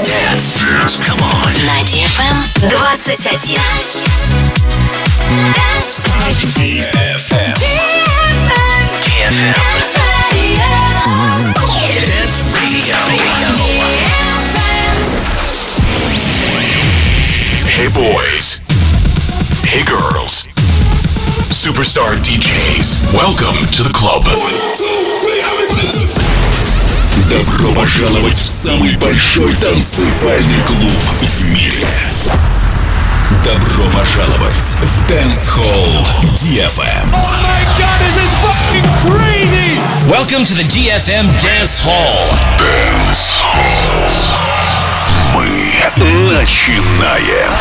Dance. Come on. На DFM 21. DFM. Dance Radio. Dance Radio. Hey boys. Hey girls. Superstar DJs. Welcome to the club. Добро пожаловать в самый большой танцевальный клуб в мире. Добро пожаловать в Dance Hall DFM. Oh my god, this is fucking crazy! Welcome to the DFM Dance Hall. Dance Hall. Мы начинаем.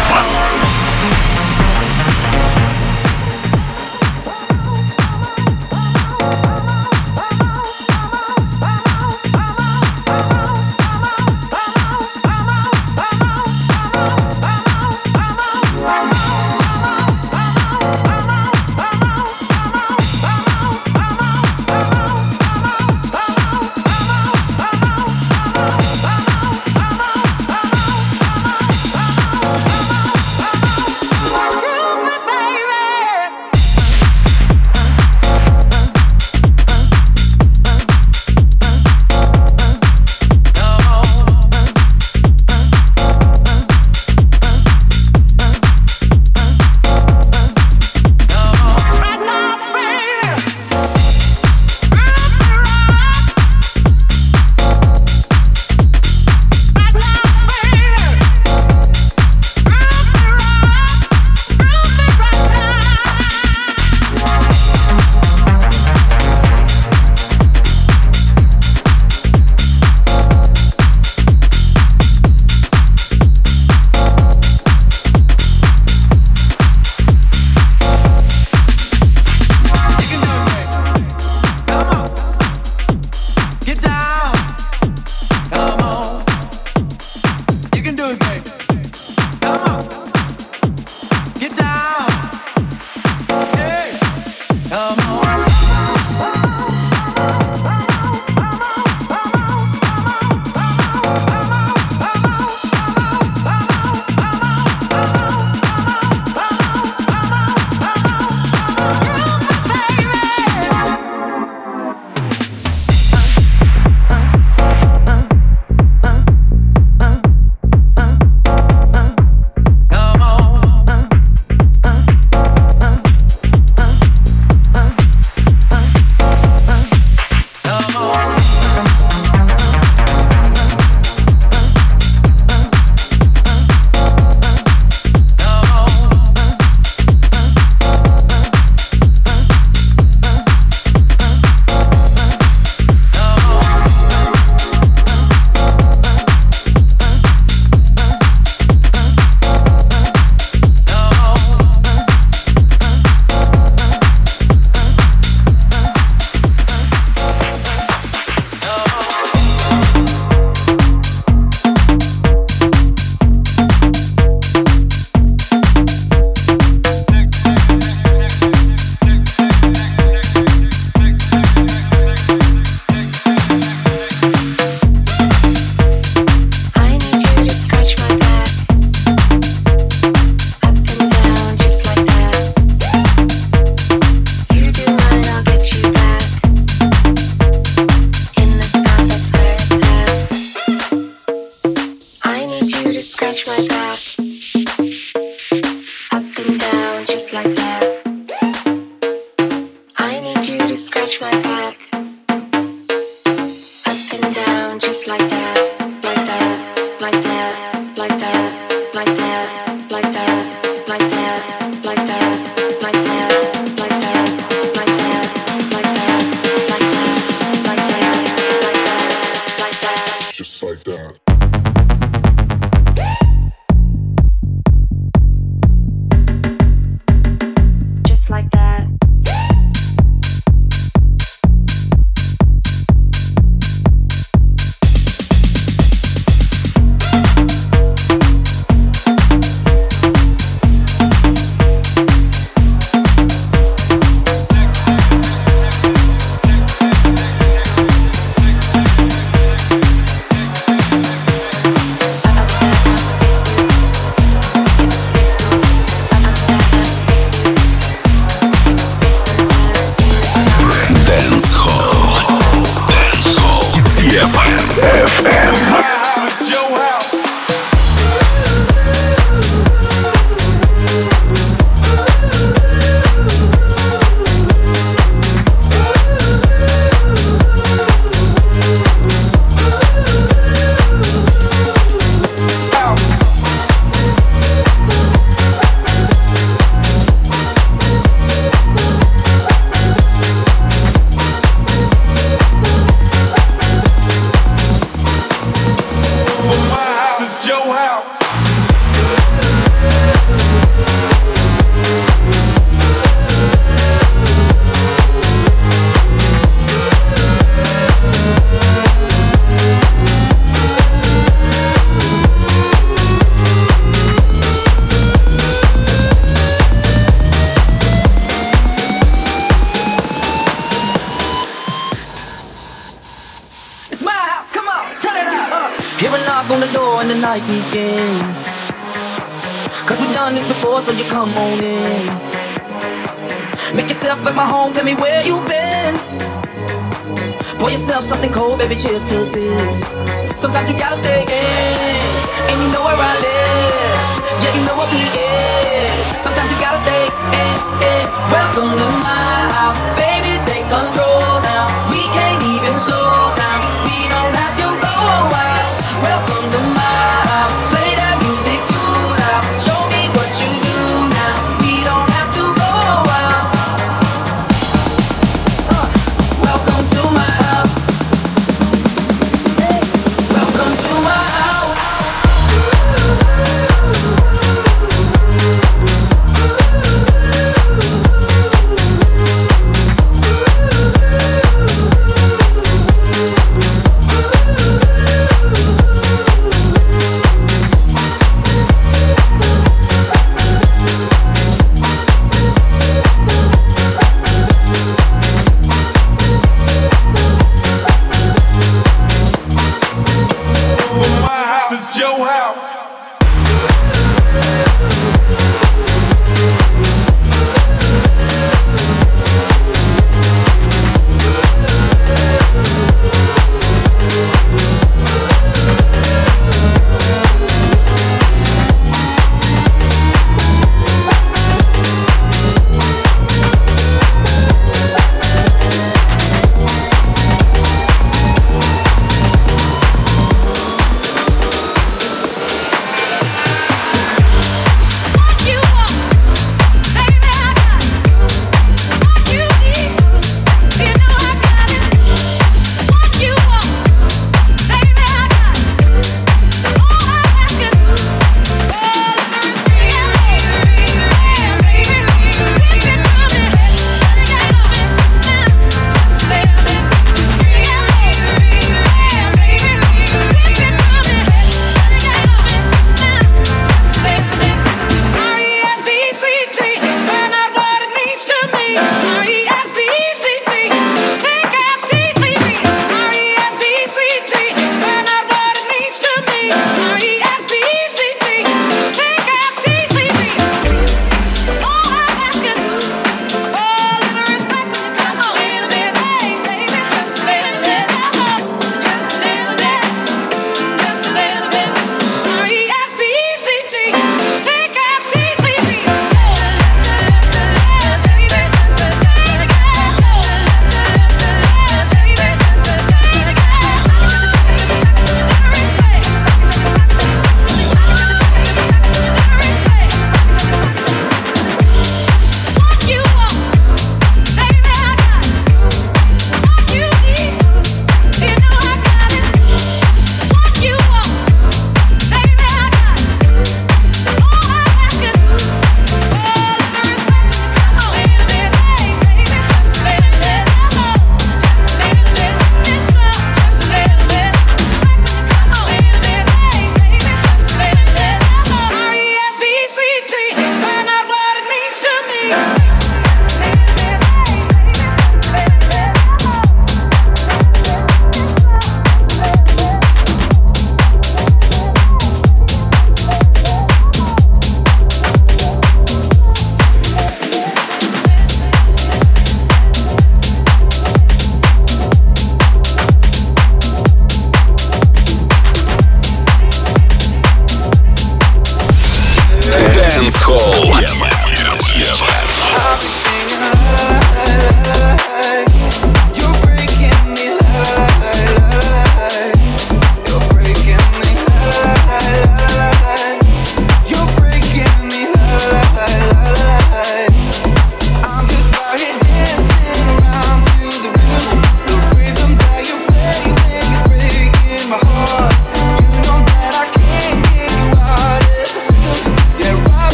FM. It's your house. Night begins. Cause we've done this before, so you come on in. Make yourself at my home, tell me where you've been. Pour yourself something cold, baby, cheers to this. Sometimes you gotta stay in, and you know where I live. Yeah, you know what we is. Sometimes you gotta stay in. Welcome to my house, baby, take control now. We can't even slow down, we don't have to go wild. Welcome to my house, play that music too loud. Show me what you do now, we don't have to go wild. Welcome to my house. Welcome to my house.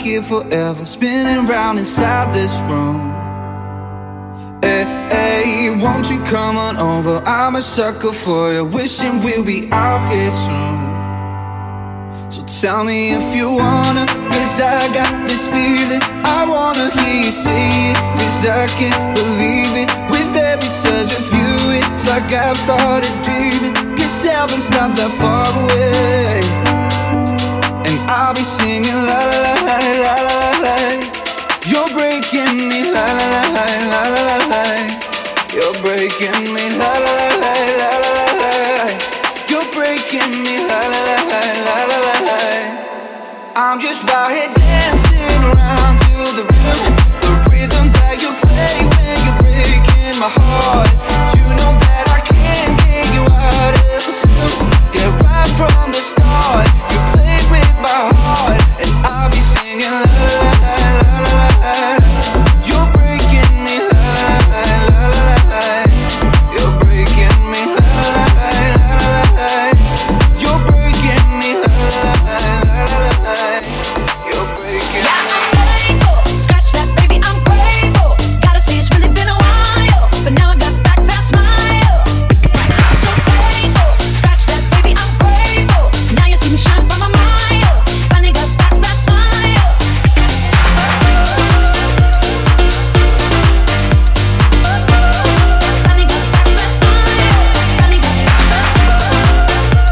here forever, spinning round inside this room. Hey, hey, won't you come on over? I'm a sucker for you, wishing we'll be out here soon. So tell me if you wanna, 'cause I got this feeling. I wanna hear you say it, 'cause I can't believe it. With every touch of you, it's like I've started dreaming. 'Cause heaven's not that far away, and I'll be singing la la la la la la la. You're breaking me la la la la la la la la. You're breaking me la la la la la la la la. You're breaking me la la la la la la la la. I'm just right here dancing around to the rhythm that you play when you're breaking my heart. You know that I can't get you out of the system. Yeah, right from the start, you played with my heart, and I'll be singing la la la la la la. You're breaking me la la la la la la. You're breaking me la la la la la la. You're breaking me la la la la la la. You're breaking me. I'm grateful, scratch that baby, I'm grateful. Gotta say it's really been a while, but now I got back that smile. I'm so grateful, scratch that baby, I'm grateful. Now you see me shine from a mile, finally got back that smile. Finally got back that smile, finally got back that smile.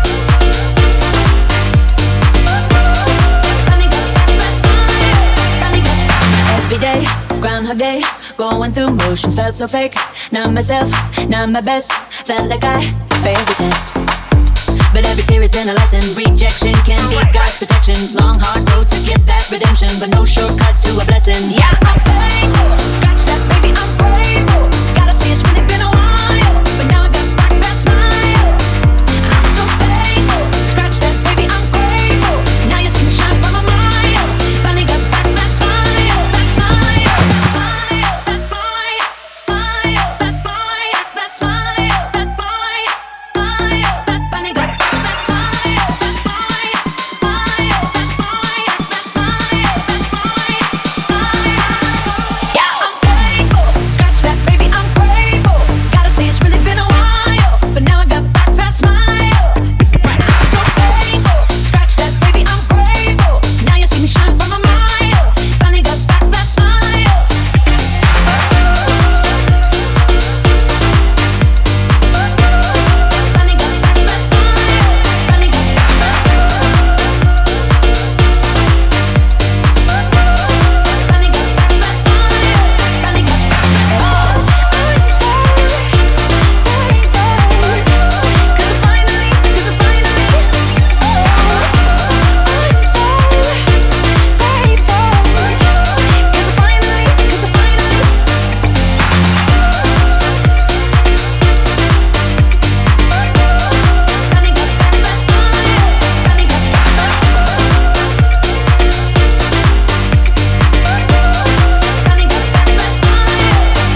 Finally got back that smile, finally got back. Every day, Groundhog Day, going through motions, felt so fake. Not myself, not my best. Felt like I failed the test. But every tear has been a lesson. Rejection can be God's protection. Long hard road to get that redemption, but no shortcuts to a blessing. Yeah, I'm thankful. Scratch that baby, I'm grateful. Gotta say it's really been a while, but now I got back that smile. I'm so thankful. Scratch that baby, I'm grateful. Now you see me shine from a mile. Finally got back that smile, that smile, that smile, that smile, smile, that smile, that smile, that smile, smile, that finally got back that smile, that smile, smile, that smile, that smile, that smile, smile. Yeah, I'm thankful. Scratch that baby, I'm grateful. Gotta say it's really been a while, but now I got back that smile. I'm so thankful. Scratch that baby, I'm grateful. Now you see me shine from a mile. Finally got back that smile. Finally got back that smile. Finally got back that smile. Finally got back that smile. Finally got back that smile. I'm so thankful, 'cause I finally, oh, I'm so thankful, 'cause I finally got back that smile. Finally got back that smile. Finally got back that smile.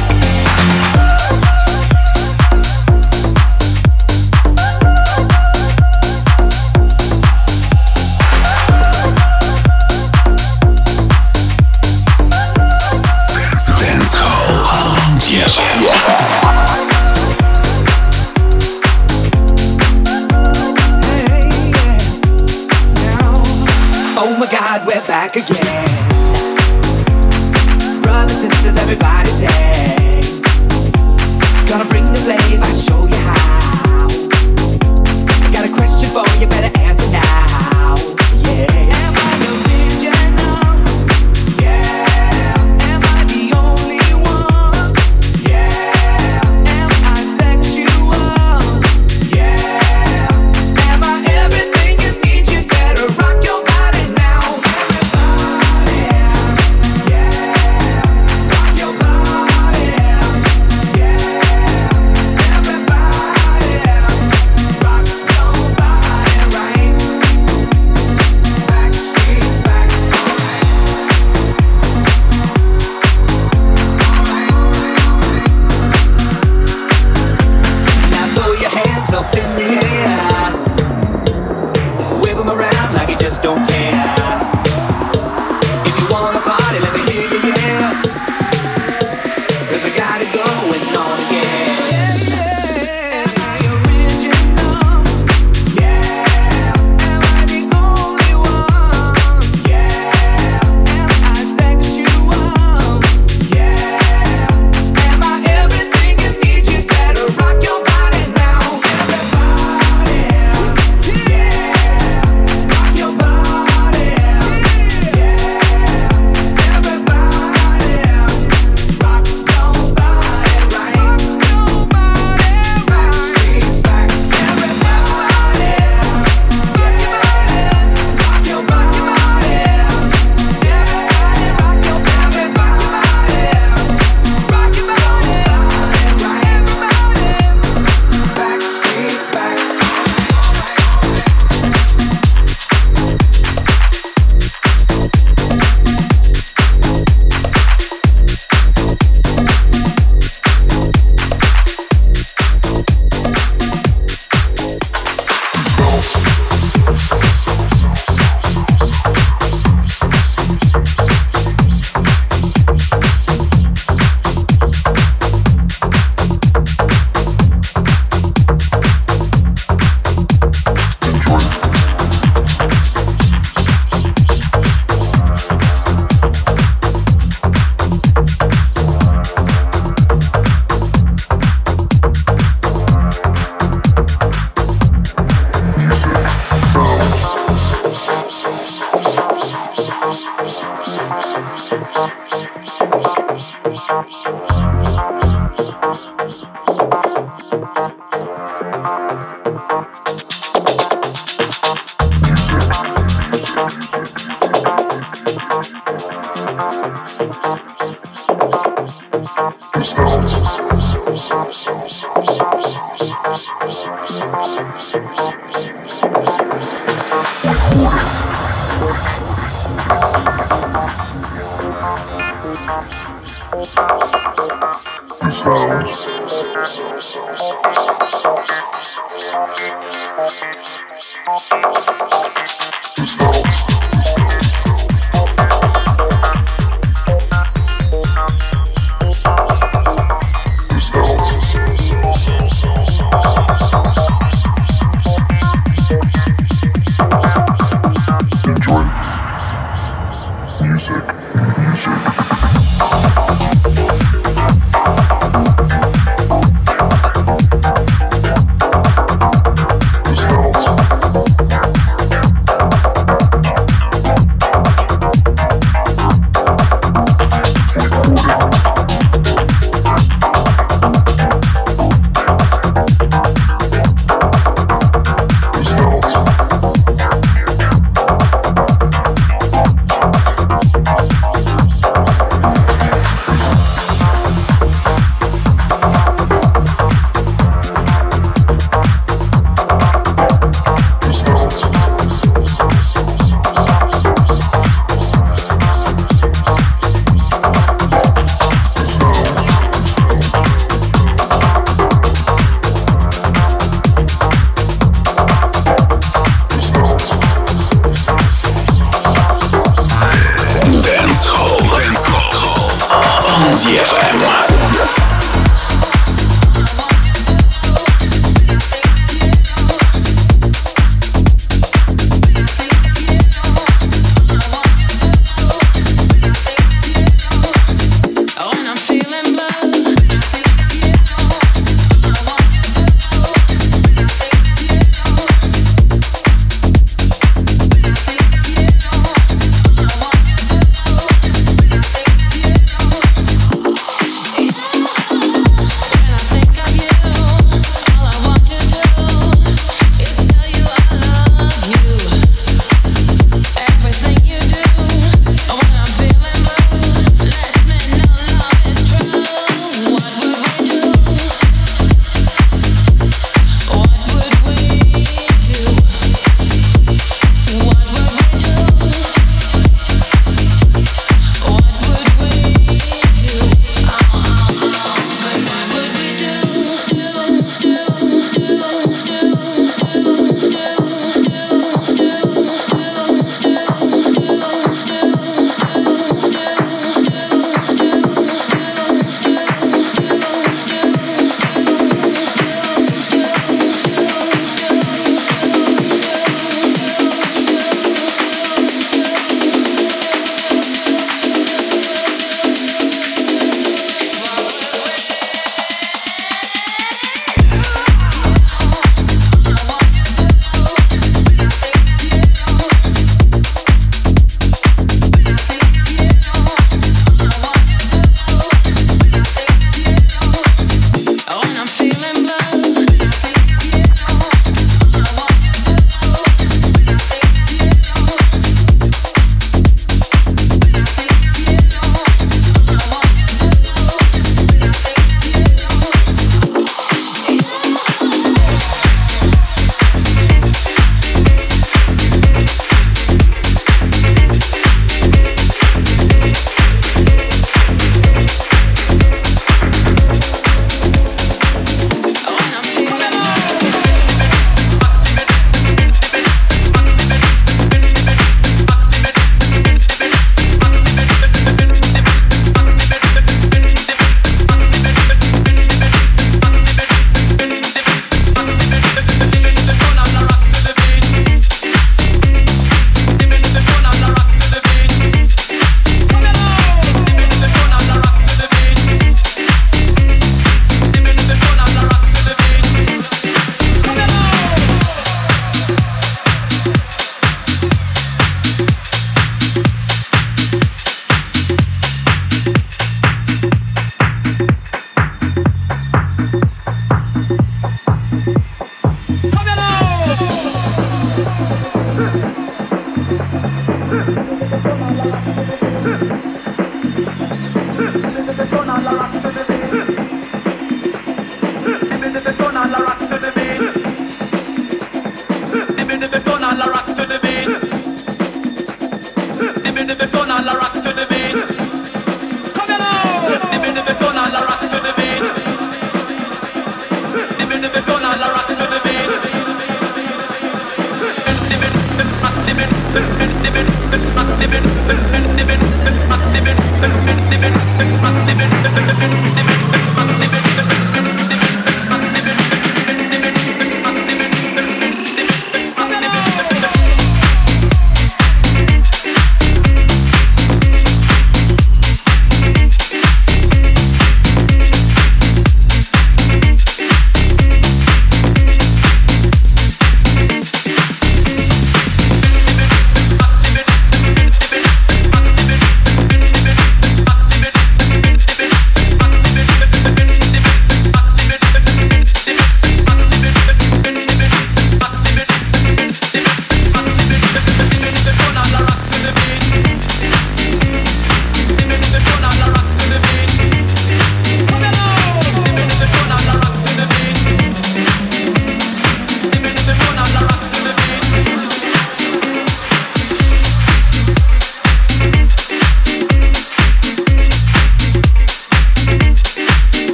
Oh my God, we're back again. Brothers, sisters, everybody say, gonna bring the flavor, show you how. Got a question for you, better answer now. Yeah. Am I original? Yeah. Am I the only one? Yeah. Am I sexual? Yeah. Am I everything you need? You better rock your body now. Everybody.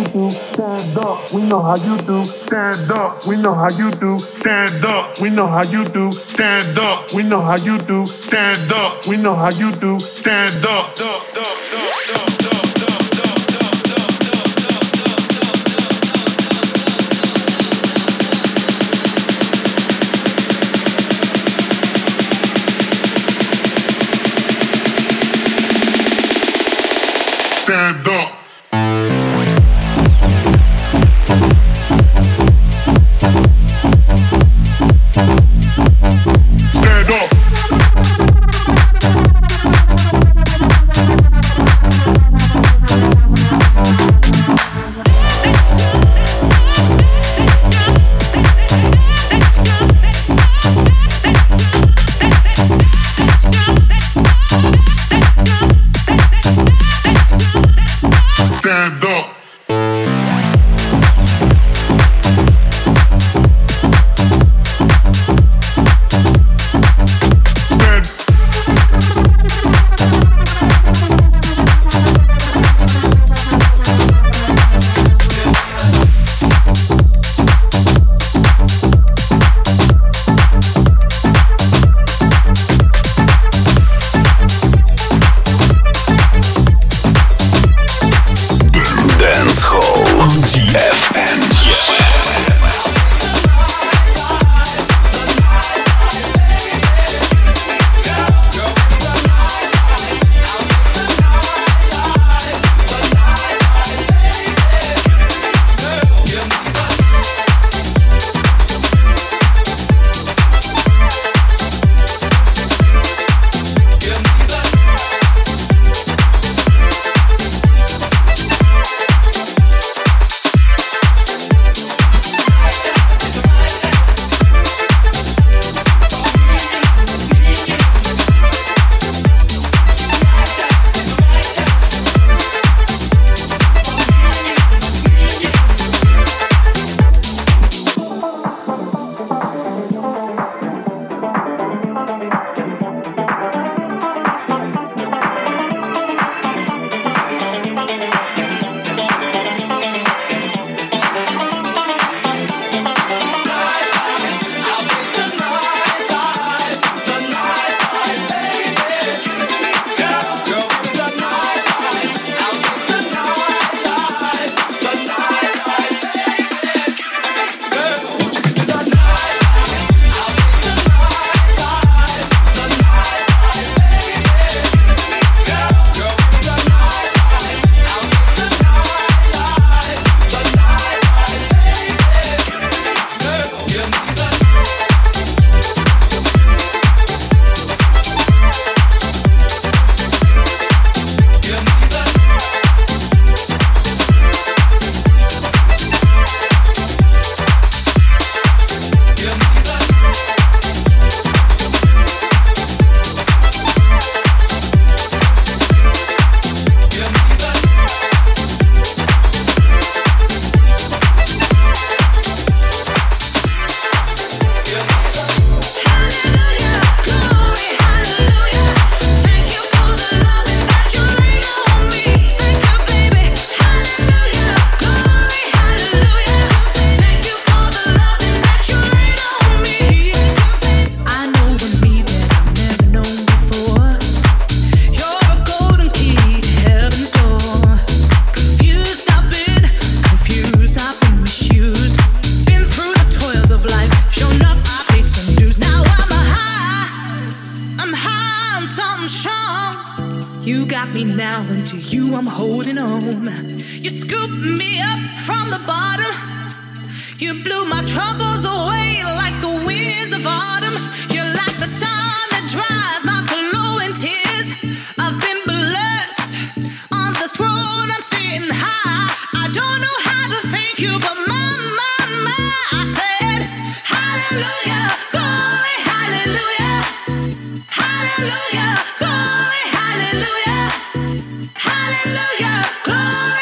you do. Stand up, we know how you do. Stand up, we know how you do. Stand up, we know how you do. Stand up, we know how you do. Stand up, we know how you do. Stand up. Stand up. Stand up. Stand up.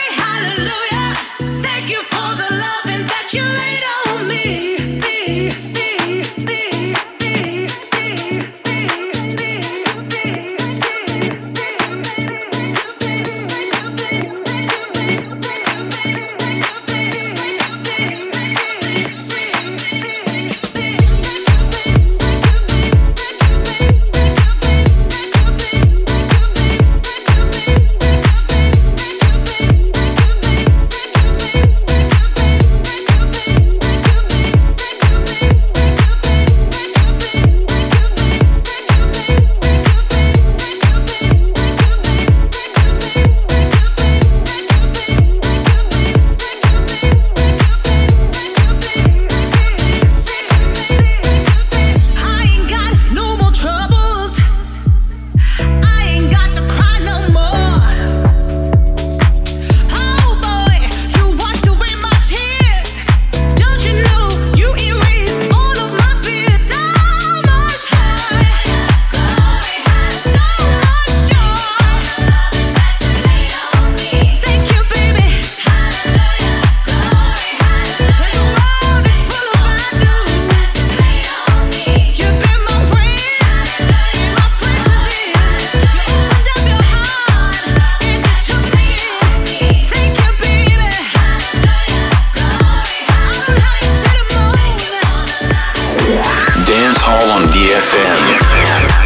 Thank you for the loving that you laid on me. Dance Hall on DFM.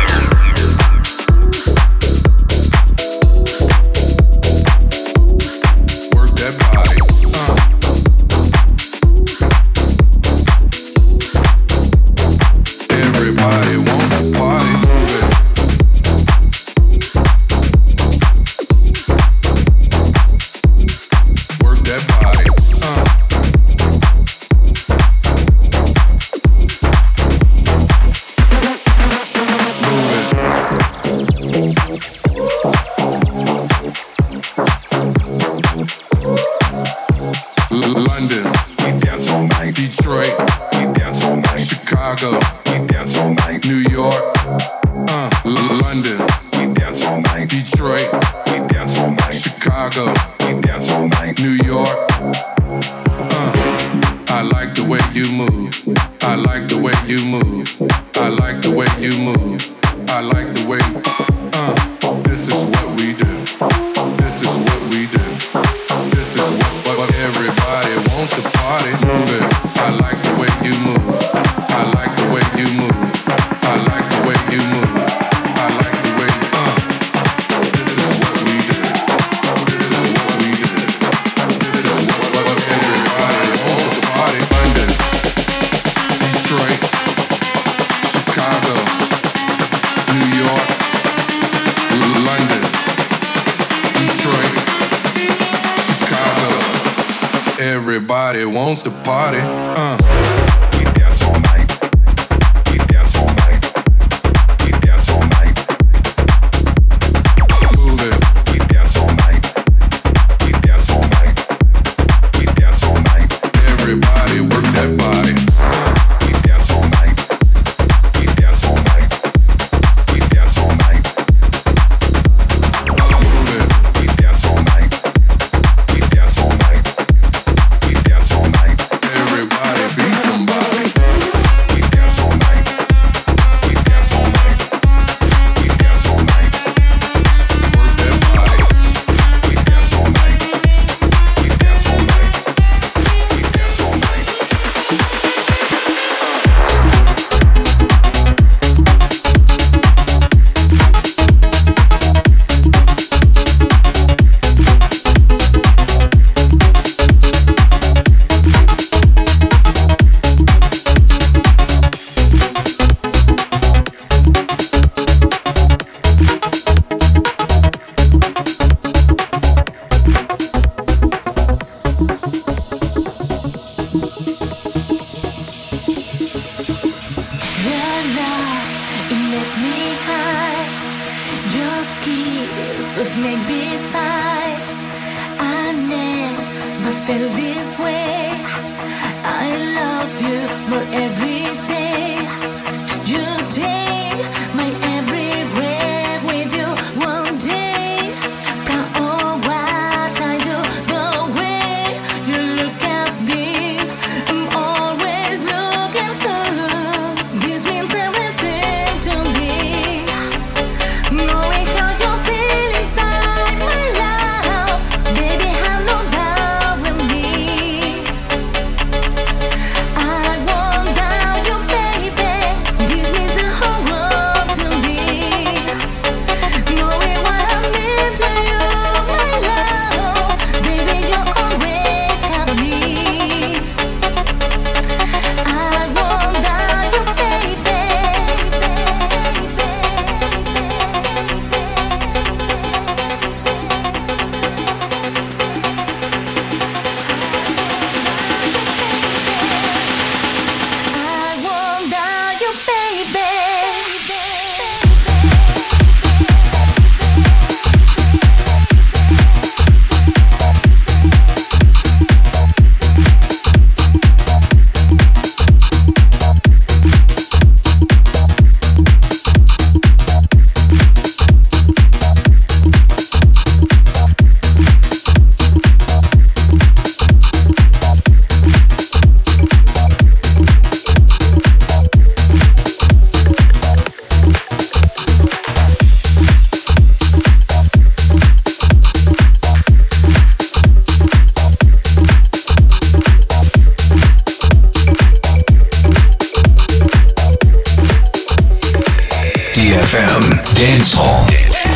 Everybody wants to party. I want DFM Dance Hall.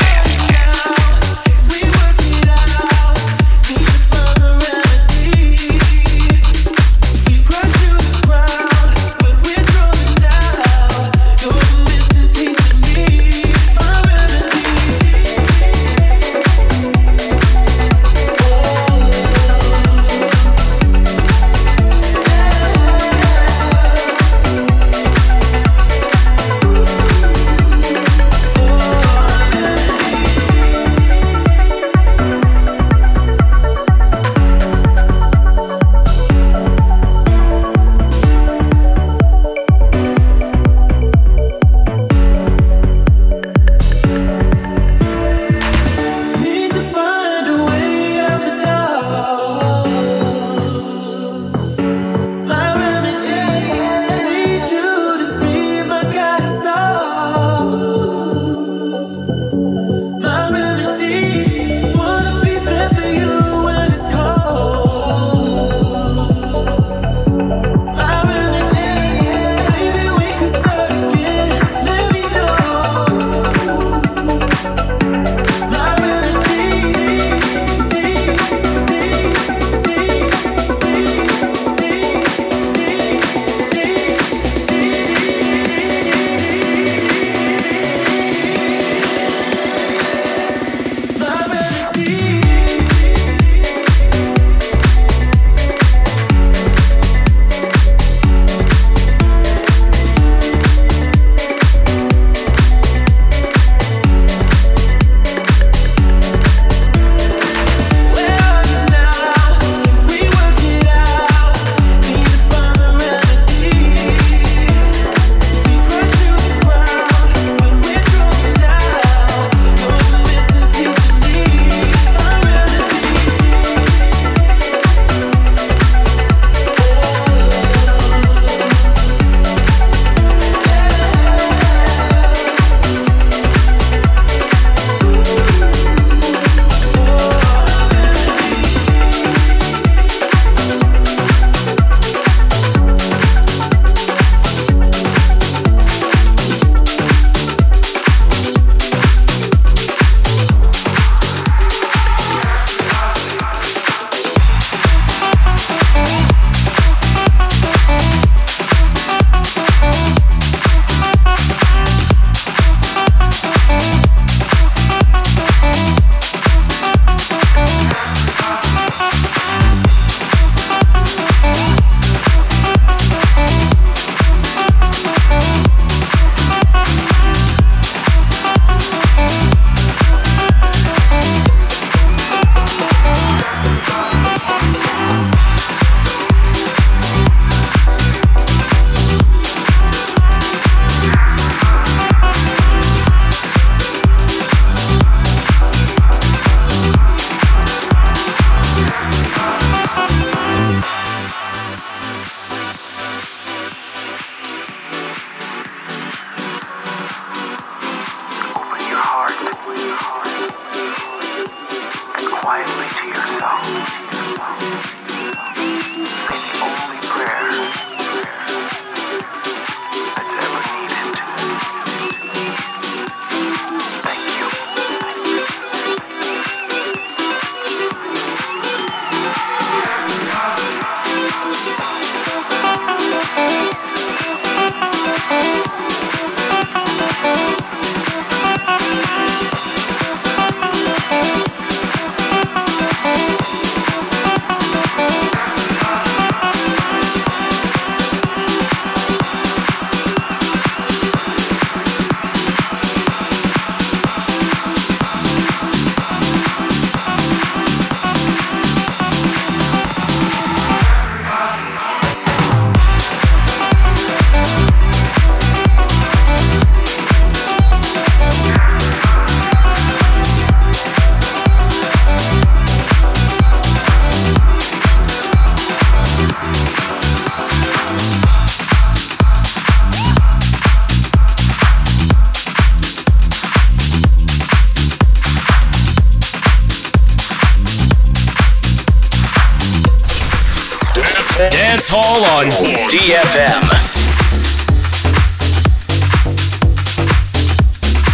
Dance Hall on DFM.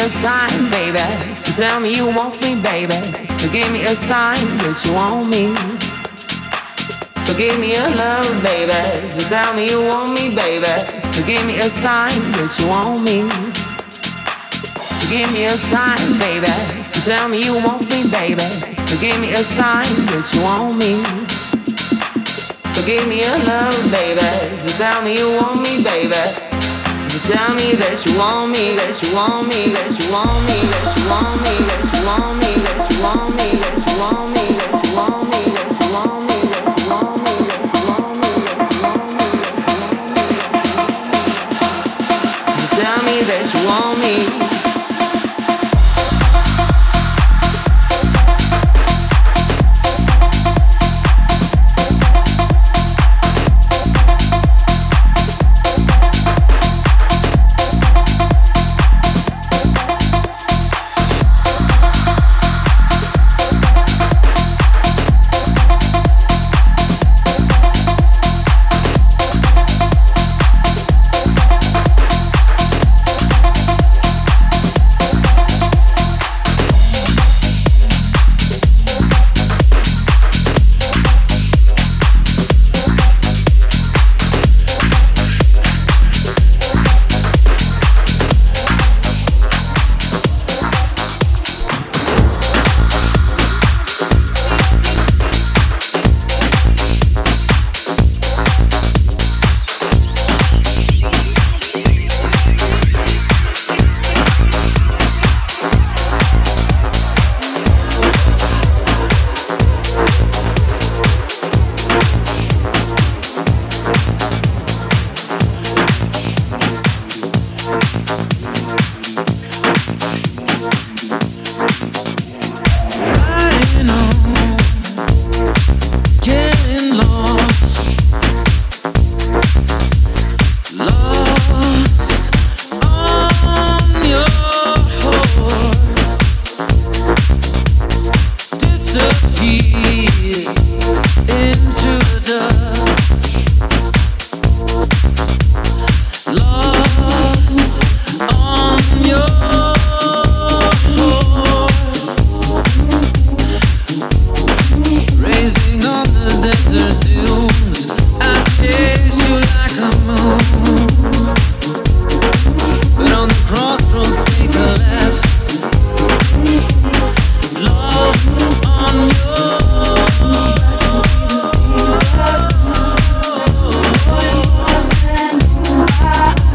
a sign, baby. So tell me you want me, baby. So give me a sign that you want me. So give me a love, baby. Just tell me you want me, baby. So give me a sign that you want me. So give me a sign, baby. So tell me you want me, baby. So give me a sign that you want me. So give me a love, baby. Just tell me you want me, baby. Just tell me that you want me, that you want me, that you want me, that you want me, that you want me, that you want me, that you want me, that you want me, that you want me, that you want me, that you want me, that you want me, that you want me. Just tell me that you want me.